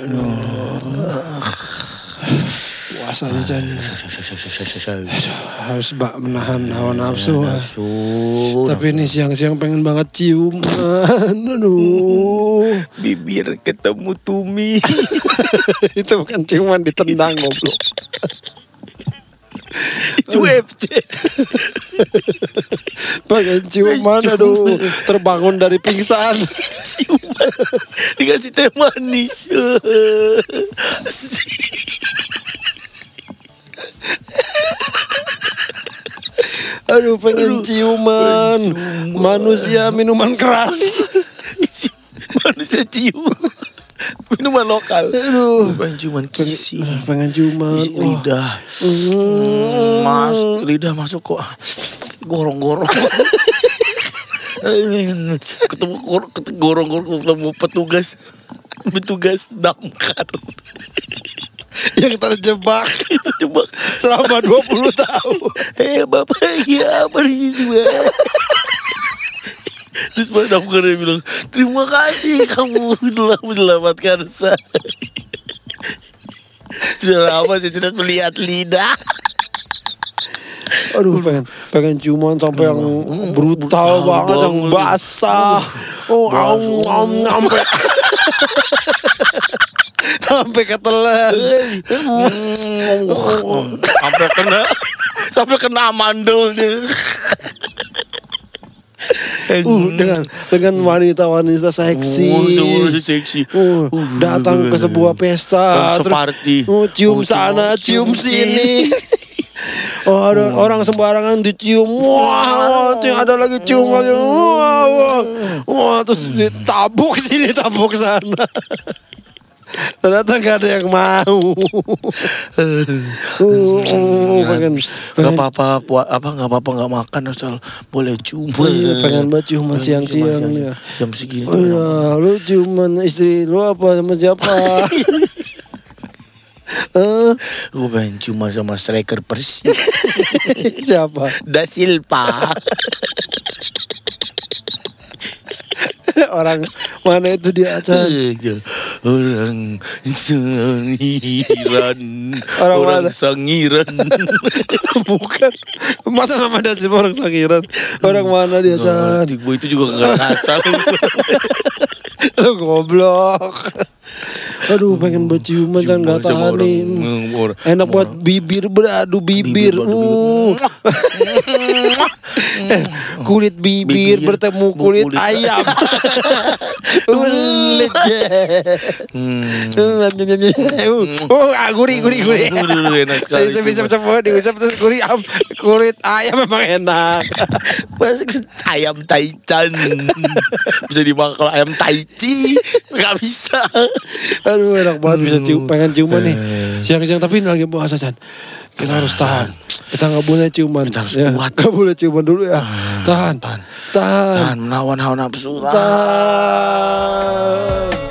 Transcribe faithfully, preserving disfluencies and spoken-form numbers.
Puasanya Chan. Harus bak menahan hawa nafsu. nafsu. Tapi ini siang-siang pengen banget ciuman. Aduh. Bibir ketemu tumi. Itu bukan ciuman, ditendang goblok. Itu F C. Pengen ciuman, aduh, terbangun dari pingsan. Ciuman dikasih teh manis. Aduh, pengen Aduh, ciuman. ciuman. Manusia minuman keras. Manusia cium. Minuman lokal. Aduh, pengen ciuman kisi. pengen ciuman. Kisi lidah. Hmm, mas, lidah masuk kok gorong-gorong. ketemu ketemu gorong-gorong, ketemu petugas petugas damkar Yang terjebak terjebak selama dua puluh tahun. Eh bapak, ya apa di situ ya? Terus Pak damkarnya bilang, terima kasih kamu telah menyelamatkan saya. Sudah lama saya tidak melihat lidah. Aduh, pengen pengen ciuman sampai yang brutal, brutal banget, yang basah. Oh, aum aum sampai sampai ketelan. Sampai kena sampai kena mandelnya. Uh, dengan dengan wanita-wanita seksi, oh, seksi. Uh, datang ke sebuah pesta, terus uh, cium sana, cium sini. Oh, ada oh. orang sembarangan dicium. Wah, wow, ada lagi cium lagi. Wah, wah. Wah, terus ditabuk sini, tabuk sana. Ternyata gak ada yang mau. uh, pengen, pengen. Gak apa-apa, apa gak apa-apa gak makan asal boleh ciuman. Iya, pengen banget ciuman siang-siang ya. Jam segini. Oh iya, lu ciuman istri lu apa sama siapa? Uh. Gue pengen cuma sama striker Persib. Siapa? Da Silva. Orang mana itu dia acara? Orang sangiran. Orang, orang mana? sangiran. Bukan. Masa nama Da Silva orang sangiran? Orang mana dia acara? Gue itu juga gak asal. Lu goblok. Aduh, pengen berciuman kan gak tahan nih. Enak buat bibir, beradu bibir. bibir, uh. eh, kulit bibir, bibir bertemu kulit, kulit ayam. Ulet. Oh, gurih gurih gurih. Enak sekali. Bisa bisa bisa bisa bisa gurih. Kulit ayam memang enak. Ayam taichan. Bisa dimakan kalau ayam taichi. Gak bisa. Aduh, enak banget bisa cium, pengen ciuman nih siang-siang, tapi ini lagi puasa Chan. Kita harus tahan. Kita nggak boleh ciuman. Kita harus ya, kuat. Nggak boleh ciuman dulu ya. Tahan, tahan, tahan, tahan, menawan hawa nafsu. Tahan.